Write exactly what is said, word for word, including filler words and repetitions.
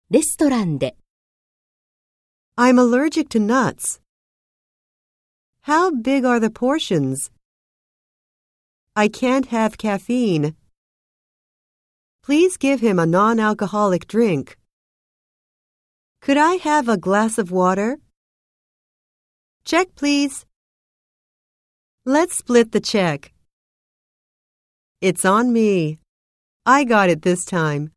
レストランで。 I'm allergic to nuts. How big are the portions? I can't have caffeine. Please give him a non-alcoholic drink. Could I have a glass of water? Check, please. Let's split the check. It's on me. I got it this time.